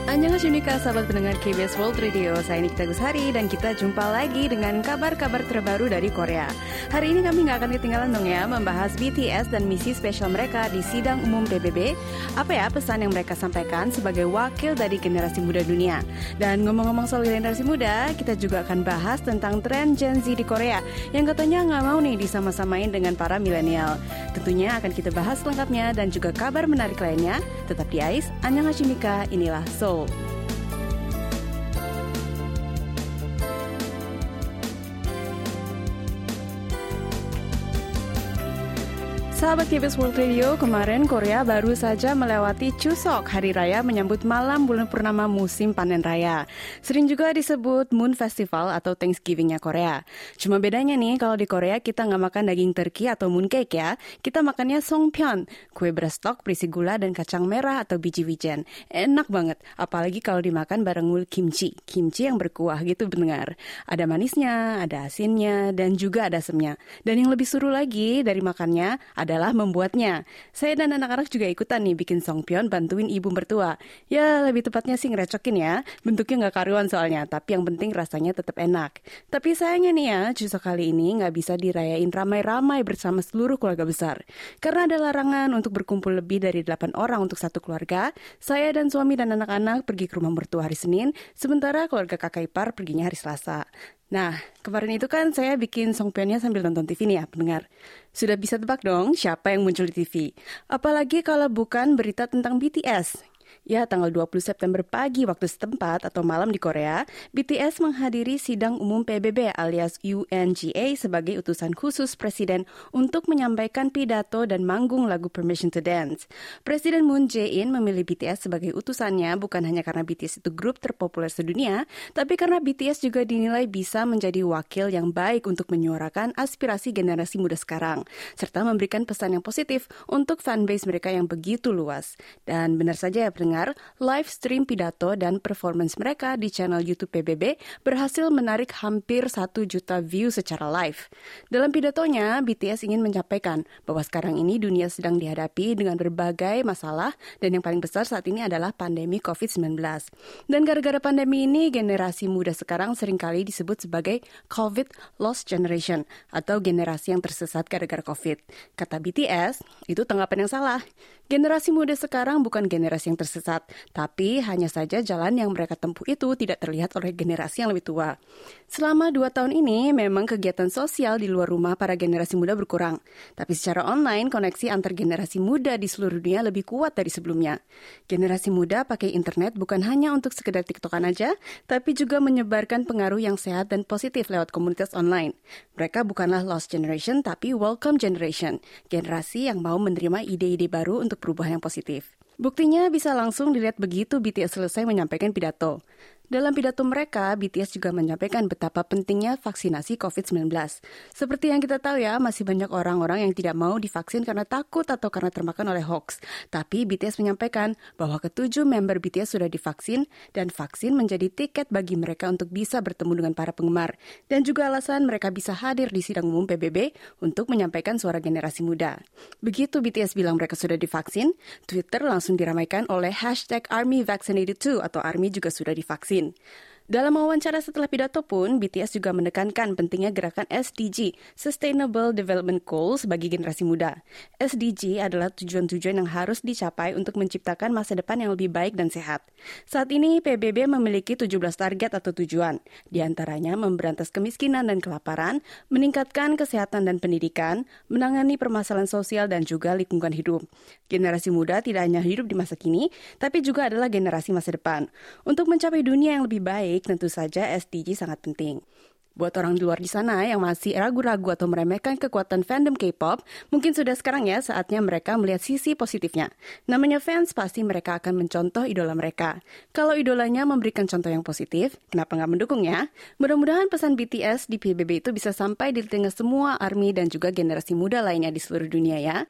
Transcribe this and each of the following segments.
Annyeonghaseyo, sahabat pendengar KBS World Radio. Saya Nikita Gusari dan kita jumpa lagi dengan kabar-kabar terbaru dari Korea. Hari ini kami nggak akan ketinggalan dong ya membahas BTS dan misi spesial mereka di sidang umum PBB. Apa ya pesan yang mereka sampaikan sebagai wakil dari generasi muda dunia. Dan ngomong-ngomong soal generasi muda, kita juga akan bahas tentang tren Gen Z di Korea yang katanya nggak mau nih disama-samain dengan para milenial. Tentunya akan kita bahas lengkapnya dan juga kabar menarik lainnya. Tetap di AIS, Annyeonghaseyo, inilah Seoul. Sahabat KBS World Radio, kemarin Korea baru saja melewati Chuseok, hari raya menyambut malam bulan purnama musim panen raya. Sering juga disebut Moon Festival atau Thanksgiving-nya Korea. Cuma bedanya nih, kalau di Korea kita nggak makan daging turkey atau mooncake ya. Kita makannya songpyeon, kue beras stok berisi gula dan kacang merah atau biji wijen. Enak banget, apalagi kalau dimakan bareng kimchi. Kimchi yang berkuah gitu pendengar. Ada manisnya, ada asinnya, dan juga ada asemnya. Dan yang lebih seru lagi dari makannya adalah membuatnya. Saya dan anak-anak juga ikutan nih bikin songpyeon bantuin ibu mertua. Ya lebih tepatnya sih ngerecokin ya. Bentuknya nggak karuan soalnya, tapi yang penting rasanya tetap enak. Tapi sayangnya nih ya, Chuseok kali ini nggak bisa dirayain ramai-ramai bersama seluruh keluarga besar. Karena ada larangan untuk berkumpul lebih dari 8 orang untuk satu keluarga. Saya dan suami dan anak-anak pergi ke rumah mertua hari Senin, sementara keluarga kakak ipar perginya hari Selasa. Nah, kemarin itu kan saya bikin songpyeonnya sambil nonton TV nih ya, pendengar. Sudah bisa tebak dong siapa yang muncul di TV. Apalagi kalau bukan berita tentang BTS. Ya, tanggal 20 September pagi waktu setempat atau malam di Korea, BTS menghadiri sidang umum PBB alias UNGA sebagai utusan khusus Presiden untuk menyampaikan pidato dan manggung lagu Permission to Dance. Presiden Moon Jae-in memilih BTS sebagai utusannya bukan hanya karena BTS itu grup terpopuler sedunia, tapi karena BTS juga dinilai bisa menjadi wakil yang baik untuk menyuarakan aspirasi generasi muda sekarang, serta memberikan pesan yang positif untuk fanbase mereka yang begitu luas. Dan benar saja ya pendengar, live stream pidato dan performance mereka di channel YouTube PBB berhasil menarik hampir 1 juta view secara live. Dalam pidatonya, BTS ingin menyampaikan bahwa sekarang ini dunia sedang dihadapi dengan berbagai masalah dan yang paling besar saat ini adalah pandemi COVID-19. Dan gara-gara pandemi ini, generasi muda sekarang seringkali disebut sebagai COVID Lost Generation atau generasi yang tersesat gara-gara COVID. Kata BTS, itu tanggapan yang salah. Generasi muda sekarang bukan generasi yang tersesat, tapi hanya saja jalan yang mereka tempuh itu tidak terlihat oleh generasi yang lebih tua. Selama 2 tahun ini, memang kegiatan sosial di luar rumah para generasi muda berkurang. Tapi secara online, koneksi antar generasi muda di seluruh dunia lebih kuat dari sebelumnya. Generasi muda pakai internet bukan hanya untuk sekedar TikTokan aja, tapi juga menyebarkan pengaruh yang sehat dan positif lewat komunitas online. Mereka bukanlah lost generation, tapi welcome generation. Generasi yang mau menerima ide-ide baru untuk perubahan yang positif. Buktinya bisa langsung dilihat begitu BTS selesai menyampaikan pidato. Dalam pidato mereka, BTS juga menyampaikan betapa pentingnya vaksinasi COVID-19. Seperti yang kita tahu ya, masih banyak orang-orang yang tidak mau divaksin karena takut atau karena termakan oleh hoax. Tapi BTS menyampaikan bahwa ke-7 member BTS sudah divaksin dan vaksin menjadi tiket bagi mereka untuk bisa bertemu dengan para penggemar. Dan juga alasan mereka bisa hadir di sidang umum PBB untuk menyampaikan suara generasi muda. Begitu BTS bilang mereka sudah divaksin, Twitter langsung diramaikan oleh #ArmyVaccinated2 atau ARMY juga sudah divaksin. Dalam wawancara setelah pidato pun, BTS juga menekankan pentingnya gerakan SDG, Sustainable Development Goals bagi generasi muda. SDG adalah tujuan-tujuan yang harus dicapai untuk menciptakan masa depan yang lebih baik dan sehat. Saat ini, PBB memiliki 17 target atau tujuan. Di antaranya memberantas kemiskinan dan kelaparan, meningkatkan kesehatan dan pendidikan, menangani permasalahan sosial dan juga lingkungan hidup. Generasi muda tidak hanya hidup di masa kini, tapi juga adalah generasi masa depan. Untuk mencapai dunia yang lebih baik, tentu saja SDG sangat penting. Buat orang di luar di sana yang masih ragu-ragu atau meremehkan kekuatan fandom K-pop, mungkin sudah sekarang ya saatnya mereka melihat sisi positifnya. Namanya fans, pasti mereka akan mencontoh idola mereka. Kalau idolanya memberikan contoh yang positif, kenapa nggak mendukung ya? Mudah-mudahan pesan BTS di PBB itu bisa sampai di telinga semua ARMY dan juga generasi muda lainnya di seluruh dunia ya.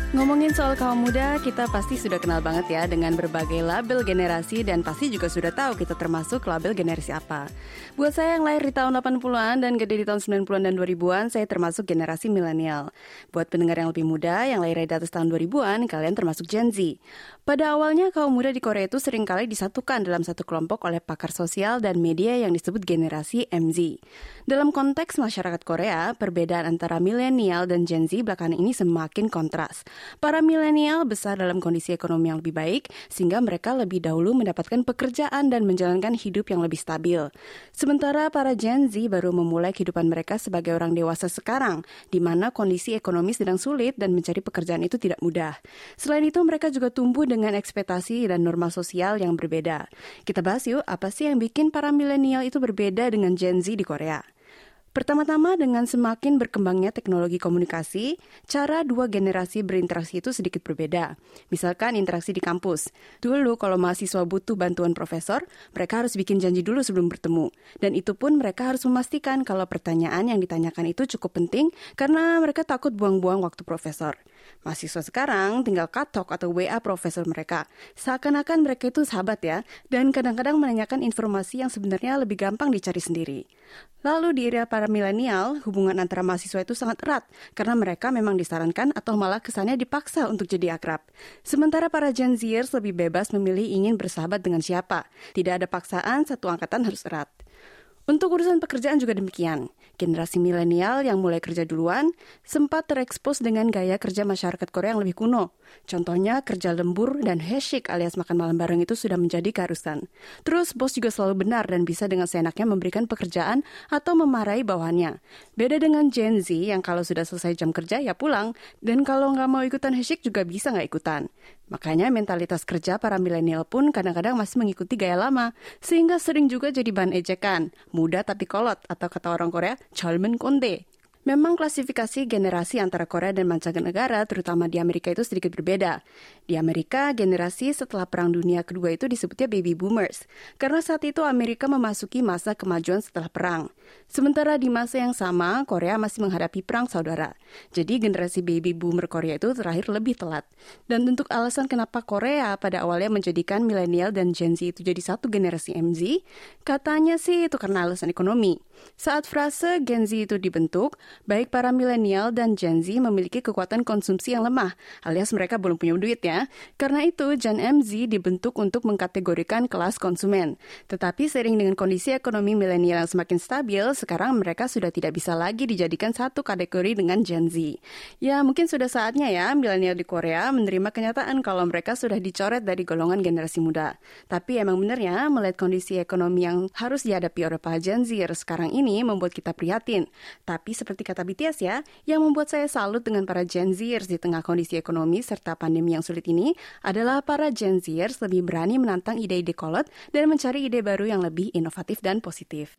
Ngomongin soal kaum muda, kita pasti sudah kenal banget ya dengan berbagai label generasi dan pasti juga sudah tahu kita termasuk label generasi apa. Buat saya yang lahir di tahun 80-an dan gede di tahun 90-an dan 2000-an, saya termasuk generasi milenial. Buat pendengar yang lebih muda, yang lahir di atas tahun 2000-an, kalian termasuk Gen Z. Pada awalnya, kaum muda di Korea itu seringkali disatukan dalam satu kelompok oleh pakar sosial dan media yang disebut generasi MZ. Dalam konteks masyarakat Korea, perbedaan antara milenial dan Gen Z belakangan ini semakin kontras. Para milenial besar dalam kondisi ekonomi yang lebih baik, sehingga mereka lebih dahulu mendapatkan pekerjaan dan menjalankan hidup yang lebih stabil. Sementara para Gen Z baru memulai kehidupan mereka sebagai orang dewasa sekarang, di mana kondisi ekonomi sedang sulit dan mencari pekerjaan itu tidak mudah. Selain itu, mereka juga tumbuh dengan ekspektasi dan norma sosial yang berbeda. Kita bahas yuk, apa sih yang bikin para milenial itu berbeda dengan Gen Z di Korea? Pertama-tama, dengan semakin berkembangnya teknologi komunikasi, cara dua generasi berinteraksi itu sedikit berbeda. Misalkan interaksi di kampus. Dulu kalau mahasiswa butuh bantuan profesor, mereka harus bikin janji dulu sebelum bertemu. Dan itu pun mereka harus memastikan kalau pertanyaan yang ditanyakan itu cukup penting karena mereka takut buang-buang waktu profesor. Mahasiswa sekarang tinggal katok atau WA profesor mereka. Seakan-akan mereka itu sahabat ya, dan kadang-kadang menanyakan informasi yang sebenarnya lebih gampang dicari sendiri. Lalu di era para milenial, hubungan antara mahasiswa itu sangat erat karena mereka memang disarankan atau malah kesannya dipaksa untuk jadi akrab. Sementara para Gen Zers lebih bebas memilih ingin bersahabat dengan siapa. Tidak ada paksaan, satu angkatan harus erat. Untuk urusan pekerjaan juga demikian. Generasi milenial yang mulai kerja duluan sempat terekspos dengan gaya kerja masyarakat Korea yang lebih kuno. Contohnya kerja lembur dan heshik alias makan malam bareng itu sudah menjadi keharusan. Terus bos juga selalu benar dan bisa dengan seenaknya memberikan pekerjaan atau memarahi bawahannya. Beda dengan Gen Z yang kalau sudah selesai jam kerja ya pulang. Dan kalau nggak mau ikutan heshik juga bisa nggak ikutan. Makanya mentalitas kerja para milenial pun kadang-kadang masih mengikuti gaya lama, sehingga sering juga jadi bahan ejekan, muda tapi kolot, atau kata orang Korea, 젊은 꼰대. Memang klasifikasi generasi antara Korea dan mancanegara, terutama di Amerika itu sedikit berbeda. Di Amerika, generasi setelah Perang Dunia Kedua itu disebutnya baby boomers, karena saat itu Amerika memasuki masa kemajuan setelah perang. Sementara di masa yang sama, Korea masih menghadapi perang saudara. Jadi generasi baby boomer Korea itu terakhir lebih telat. Dan untuk alasan kenapa Korea pada awalnya menjadikan milenial dan Gen Z itu jadi satu generasi MZ, katanya sih itu karena alasan ekonomi. Saat frase Gen Z itu dibentuk, baik para milenial dan Gen Z memiliki kekuatan konsumsi yang lemah, alias mereka belum punya duit ya. Karena itu, Gen MZ dibentuk untuk mengkategorikan kelas konsumen. Tetapi seiring dengan kondisi ekonomi milenial yang semakin stabil, sekarang mereka sudah tidak bisa lagi dijadikan satu kategori dengan Gen Z. Ya, mungkin sudah saatnya ya milenial di Korea menerima kenyataan kalau mereka sudah dicoret dari golongan generasi muda. Tapi emang benar ya, melihat kondisi ekonomi yang harus dihadapi oleh para Gen Z sekarang ini membuat kita prihatin. Tapi seperti kata BTS ya, yang membuat saya salut dengan para Gen Zers di tengah kondisi ekonomi serta pandemi yang sulit ini adalah para Gen Zers lebih berani menantang ide-ide kolot dan mencari ide baru yang lebih inovatif dan positif.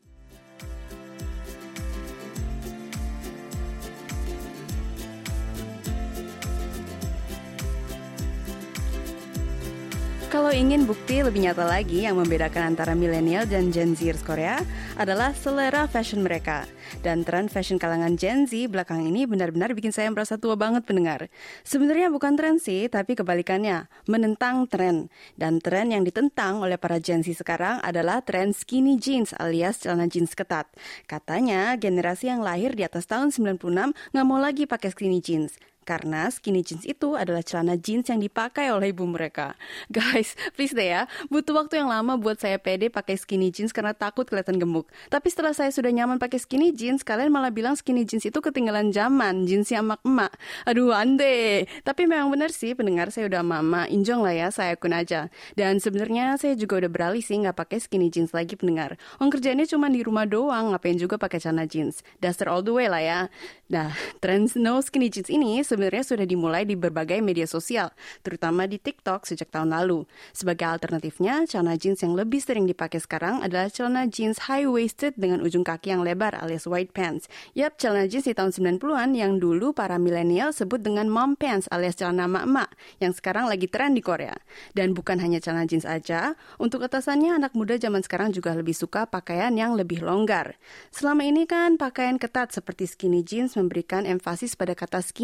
Kalau ingin bukti lebih nyata lagi yang membedakan antara milenial dan Gen Zers Korea adalah selera fashion mereka. Dan tren fashion kalangan Gen Z belakang ini benar-benar bikin saya merasa tua banget pendengar. Sebenarnya bukan tren sih, tapi kebalikannya, menentang tren. Dan tren yang ditentang oleh para Gen Z sekarang adalah tren skinny jeans alias celana jeans ketat. Katanya generasi yang lahir di atas tahun 96 nggak mau lagi pakai skinny jeans. Karena skinny jeans itu adalah celana jeans yang dipakai oleh ibu mereka. Guys, please deh ya, butuh waktu yang lama buat saya pede pakai skinny jeans karena takut kelihatan gemuk. Tapi setelah saya sudah nyaman pakai skinny jeans, kalian malah bilang skinny jeans itu ketinggalan zaman, jeansnya emak-emak. Aduh, ande. Tapi memang benar sih, pendengar saya udah mama, injong lah ya, saya akun aja. Dan sebenarnya saya juga udah beralih sih nggak pakai skinny jeans lagi pendengar. Kerjanya cuma di rumah doang, ngapain juga pakai celana jeans. Duster all the way lah ya. Nah, tren no skinny jeans ini sebenarnya sudah dimulai di berbagai media sosial, terutama di TikTok sejak tahun lalu. Sebagai alternatifnya, celana jeans yang lebih sering dipakai sekarang adalah celana jeans high-waisted dengan ujung kaki yang lebar alias wide pants. Yap, celana jeans di tahun 90-an yang dulu para milenial sebut dengan mom pants alias celana emak-emak, yang sekarang lagi tren di Korea. Dan bukan hanya celana jeans aja, untuk atasannya anak muda zaman sekarang juga lebih suka pakaian yang lebih longgar. Selama ini kan pakaian ketat seperti skinny jeans memberikan emfasis pada kata skinny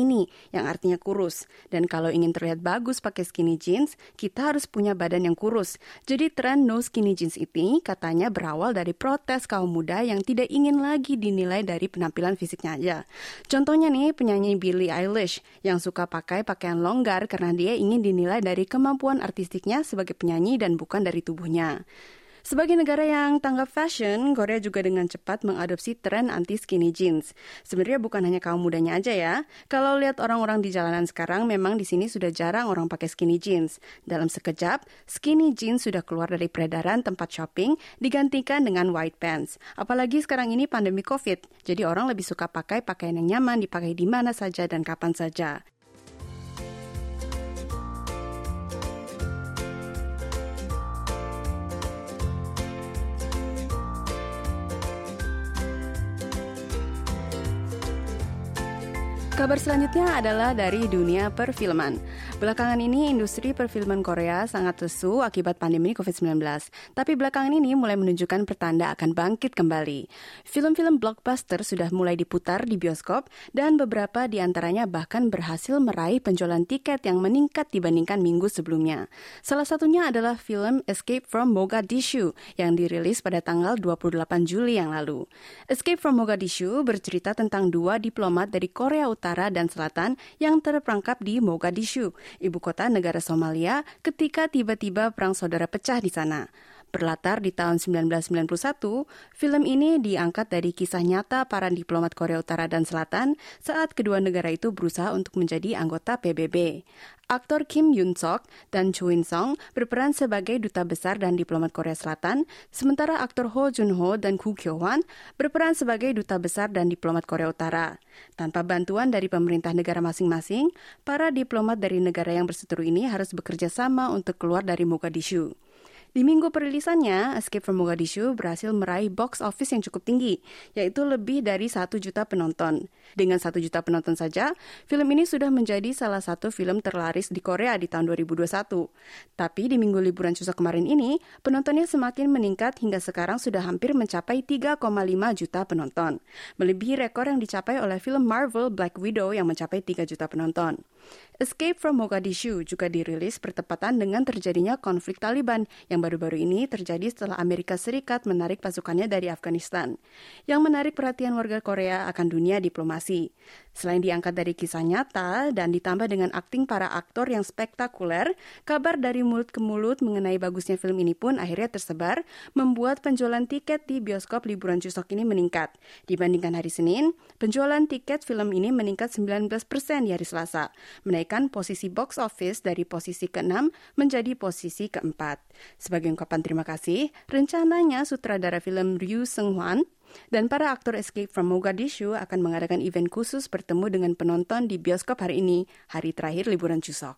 yang artinya kurus. Dan kalau ingin terlihat bagus pakai skinny jeans, kita harus punya badan yang kurus. Jadi tren no skinny jeans ini katanya berawal dari protes kaum muda yang tidak ingin lagi dinilai dari penampilan fisiknya aja. Contohnya nih, penyanyi Billie Eilish yang suka pakai pakaian longgar karena dia ingin dinilai dari kemampuan artistiknya sebagai penyanyi dan bukan dari tubuhnya. Sebagai negara yang tanggap fashion, Korea juga dengan cepat mengadopsi tren anti-skinny jeans. Sebenarnya bukan hanya kaum mudanya aja ya. Kalau lihat orang-orang di jalanan sekarang, memang di sini sudah jarang orang pakai skinny jeans. Dalam sekejap, skinny jeans sudah keluar dari peredaran tempat shopping, digantikan dengan white pants. Apalagi sekarang ini pandemi COVID, jadi orang lebih suka pakai pakaian yang nyaman, dipakai di mana saja dan kapan saja. Kabar selanjutnya adalah dari dunia perfilman. Belakangan ini industri perfilman Korea sangat lesu akibat pandemi COVID-19. Tapi belakangan ini mulai menunjukkan pertanda akan bangkit kembali. Film-film blockbuster sudah mulai diputar di bioskop dan beberapa di antaranya bahkan berhasil meraih penjualan tiket yang meningkat dibandingkan minggu sebelumnya. Salah satunya adalah film Escape from Mogadishu yang dirilis pada tanggal 28 Juli yang lalu. Escape from Mogadishu bercerita tentang dua diplomat dari Korea Utara dan Selatan yang terperangkap di Mogadishu, ibu kota negara Somalia, ketika tiba-tiba perang saudara pecah di sana. Berlatar di tahun 1991, film ini diangkat dari kisah nyata para diplomat Korea Utara dan Selatan saat kedua negara itu berusaha untuk menjadi anggota PBB. Aktor Kim Yoon-sok dan Cho In-sung berperan sebagai duta besar dan diplomat Korea Selatan, sementara aktor Ho Jun-ho dan Koo Kyo-hwan berperan sebagai duta besar dan diplomat Korea Utara. Tanpa bantuan dari pemerintah negara masing-masing, para diplomat dari negara yang berseteru ini harus bekerja sama untuk keluar dari Mogadishu. Di minggu perilisannya, Escape from Mogadishu berhasil meraih box office yang cukup tinggi, yaitu lebih dari 1 juta penonton. Dengan 1 juta penonton saja, film ini sudah menjadi salah satu film terlaris di Korea di tahun 2021. Tapi di minggu liburan Chuseok kemarin ini, penontonnya semakin meningkat hingga sekarang sudah hampir mencapai 3,5 juta penonton. Melebihi rekor yang dicapai oleh film Marvel Black Widow yang mencapai 3 juta penonton. Escape from Mogadishu juga dirilis bertepatan dengan terjadinya konflik Taliban yang baru-baru ini terjadi setelah Amerika Serikat menarik pasukannya dari Afghanistan. Yang menarik perhatian warga Korea akan dunia diplomasi. Selain diangkat dari kisah nyata dan ditambah dengan akting para aktor yang spektakuler, kabar dari mulut ke mulut mengenai bagusnya film ini pun akhirnya tersebar, membuat penjualan tiket di bioskop liburan Chuseok ini meningkat. Dibandingkan hari Senin, penjualan tiket film ini meningkat 19% di hari Selasa, menaikkan posisi box office dari posisi ke-6 menjadi posisi ke-4. Sebagai ungkapan terima kasih, rencananya sutradara film Ryu Seung-hwan dan para aktor Escape from Mogadishu akan mengadakan event khusus bertemu dengan penonton di bioskop hari ini, hari terakhir liburan Chuseok.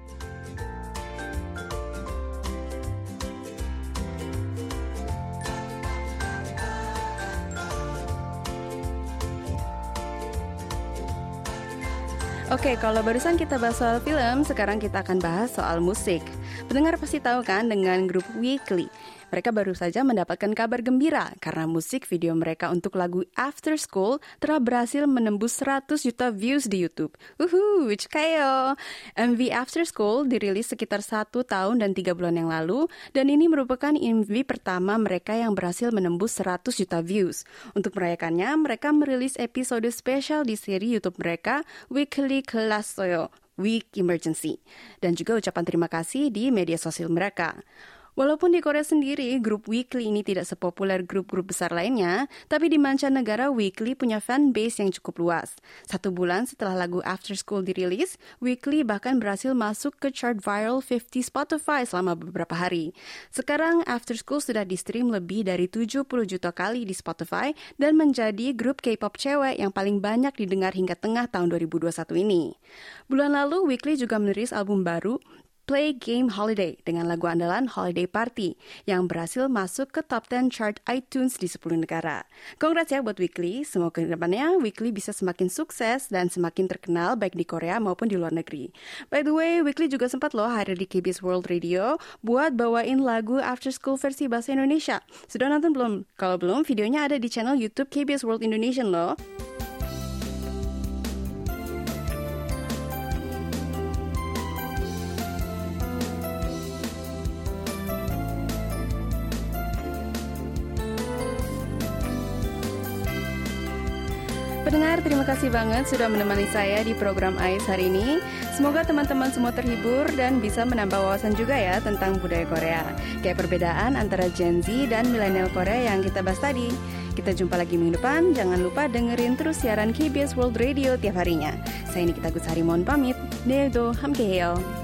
Oke, kalau barusan kita bahas soal film, sekarang kita akan bahas soal musik. Pendengar pasti tahu kan dengan grup Weekly. Mereka baru saja mendapatkan kabar gembira karena musik video mereka untuk lagu After School telah berhasil menembus 100 juta views di YouTube. Chikayo! MV After School dirilis sekitar 1 tahun dan 3 bulan yang lalu, dan ini merupakan MV pertama mereka yang berhasil menembus 100 juta views. Untuk merayakannya, mereka merilis episode spesial di seri YouTube mereka, Weekly Kelas Soyo, Week Emergency, dan juga ucapan terima kasih di media sosial mereka. Walaupun di Korea sendiri, grup Weekly ini tidak sepopuler grup-grup besar lainnya, tapi di mancanegara Weekly punya fanbase yang cukup luas. 1 bulan setelah lagu After School dirilis, Weekly bahkan berhasil masuk ke chart viral 50 Spotify selama beberapa hari. Sekarang After School sudah di-stream lebih dari 70 juta kali di Spotify dan menjadi grup K-pop cewek yang paling banyak didengar hingga tengah tahun 2021 ini. Bulan lalu, Weekly juga merilis album baru, Play Game Holiday dengan lagu andalan Holiday Party yang berhasil masuk ke top 10 chart iTunes di 10 negara. Congrats ya buat Weekly, semoga ke depannya Weekly bisa semakin sukses dan semakin terkenal baik di Korea maupun di luar negeri. By the way, Weekly juga sempat loh hadir di KBS World Radio buat bawain lagu After School versi bahasa Indonesia. Sudah nonton belum? Kalau belum, videonya ada di channel YouTube KBS World Indonesia loh. Pendengar, terima kasih banget sudah menemani saya di program AIS hari ini. Semoga teman-teman semua terhibur dan bisa menambah wawasan juga ya tentang budaya Korea. Kayak perbedaan antara Gen Z dan milenial Korea yang kita bahas tadi. Kita jumpa lagi minggu depan. Jangan lupa dengerin terus siaran KBS World Radio tiap harinya. Saya Nikita Gutsari mohon pamit. 내일도 함께해요.